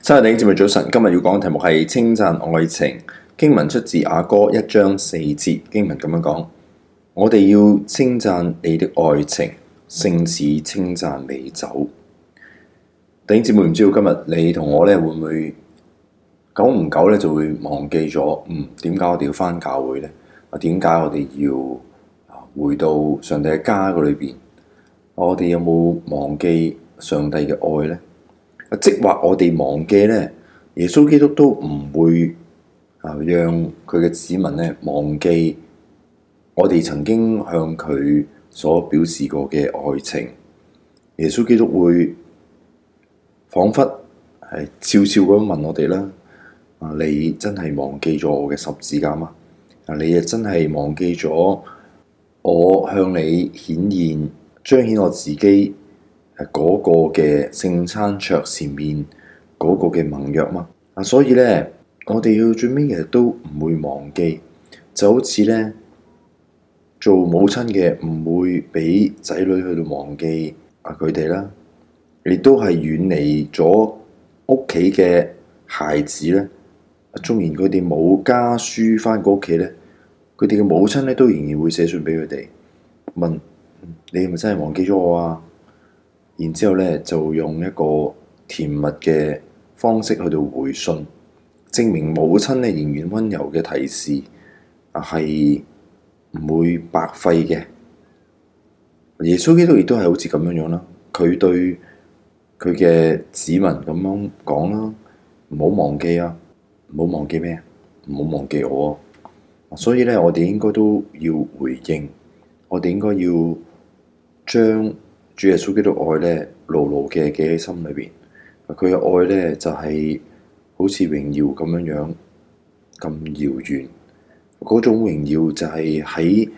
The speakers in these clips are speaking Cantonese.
親愛的弟兄姊妹早晨，今日要講嘅題目係稱讚愛情。經文出自雅歌1章4節，經文咁樣講：我哋要稱讚你的愛情，勝似稱讚美酒。弟兄姊妹，唔知道今日你同我咧會唔會久唔久咧就會忘記咗？點解我哋要返教會咧？點解我哋要回到上帝嘅家嗰裏邊？我哋有冇忘記上帝嘅愛咧？即或我哋忘記咧，耶穌基督都唔會讓佢嘅子民咧忘記我哋曾經向佢所表示過嘅愛情。耶穌基督會彷彿係悄悄咁問我哋啦：你真係忘記咗我嘅十字架嗎？你又真係忘記咗我向你顯現彰顯我自己嗰個嘅聖餐桌前面嗰個嘅盟約嗎？所以咧，我哋要最尾其實都唔會忘記，就好似咧做母親嘅唔會俾仔女去到忘記佢哋啦，亦都係遠離咗屋企嘅孩子咧。縱然佢哋冇家書翻過屋企咧，佢哋嘅母親咧都仍然會寫信俾佢哋，問你係咪真係忘記咗我啊？然之後咧，就用一個甜蜜嘅方式去到回信，證明母親咧仍然溫柔嘅提示係唔會白費嘅。耶穌基督亦都係好似咁樣樣啦，佢對佢嘅子民咁樣講啦：唔好忘記啊，唔好忘記咩？唔好忘記我啊！所以咧，我哋應該都要回應，我哋應該要將主耶穌基督愛咧，牢牢嘅記喺心裏邊。佢嘅愛咧就係好似榮耀咁樣樣咁遙遠。嗰種榮耀就係喺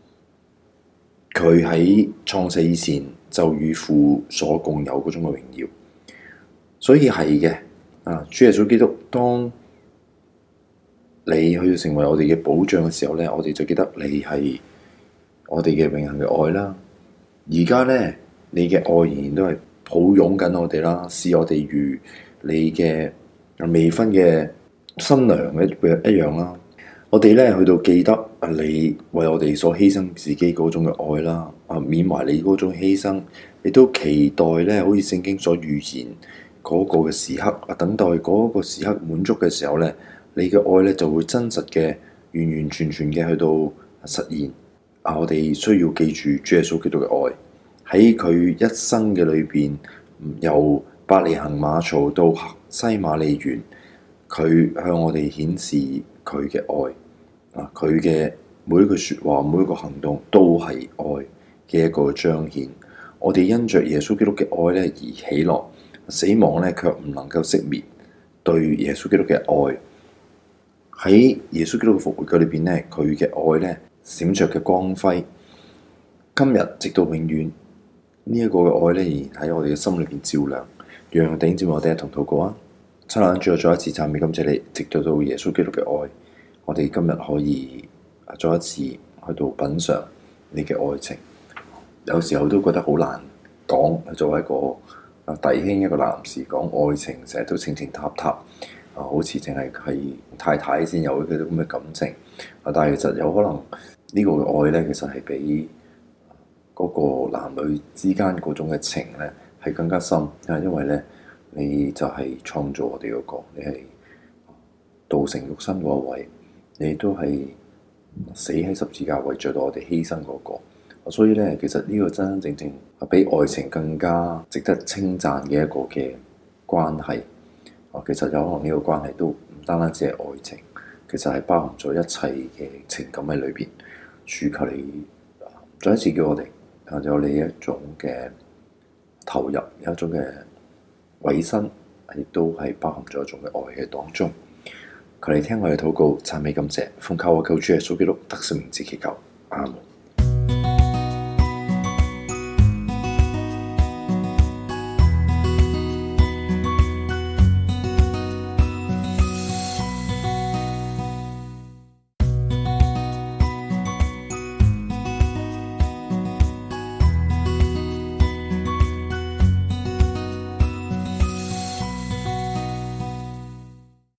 佢喺創世以前就與父所共有嗰種嘅榮耀。所以係嘅主耶穌基督，當你去成為我哋嘅保障嘅時候咧，我哋就記得你係我哋嘅永恆嘅愛啦。而家咧，你嘅愛仍然都係抱擁緊我哋啦，視我哋如你嘅未婚嘅新娘一樣啦。我哋咧去到記得你為我哋所犧牲自己嗰種嘅愛啦，緬懷你嗰種犧牲，亦都期待咧，好似聖經所預言嗰個嘅時刻，等待嗰個時刻滿足嘅時候咧，你嘅愛咧就會真實嘅、完完全全嘅去到實現。我哋需要記住主耶穌基督嘅愛。喺佢一生嘅裏邊，由伯利恆馬槽到西馬利園，佢向我哋顯示佢嘅愛。佢嘅每一句説話、每一個行動都係愛嘅一個彰顯。我哋因着耶穌基督嘅愛咧而喜樂，死亡咧卻唔能夠熄滅對耶穌基督嘅愛。喺耶穌基督嘅復活嘅裏邊咧，佢嘅愛咧閃着嘅光輝，今日直到永遠。呢一個嘅愛咧，仍然喺我哋嘅心裏邊照亮，讓弟兄姊妹我哋一同禱告啊！親愛的主，再一次讚美感謝你，直到耶穌基督嘅愛，我哋今日可以再一次去到品嚐你嘅愛情。有時候都覺得好難講，作為一個弟兄、一個男士講愛情，成日都情情塔塔，好似淨係太太先有嗰啲咁嘅感情。但係其實有可能呢個嘅愛咧，其實係比嗰個男女之間嗰種嘅情咧係更加深，因為咧你就係創造我哋嗰個，你係道成肉身嗰位，你都係死喺十字架為著到我哋犧牲嗰個，所以咧其實呢個真真正正係比愛情更加值得稱讚嘅一個嘅關係。其實有可能呢個關係都唔單單只係愛情，其實係包含咗一切嘅情感喺裏邊。主求你再一次叫我哋有你一種嘅投入，有一種嘅委身，亦都係包含咗一種嘅愛嘅當中。求你聽我哋禱告，讚美感謝，奉靠我救主耶穌基督得勝名字祈求，阿門。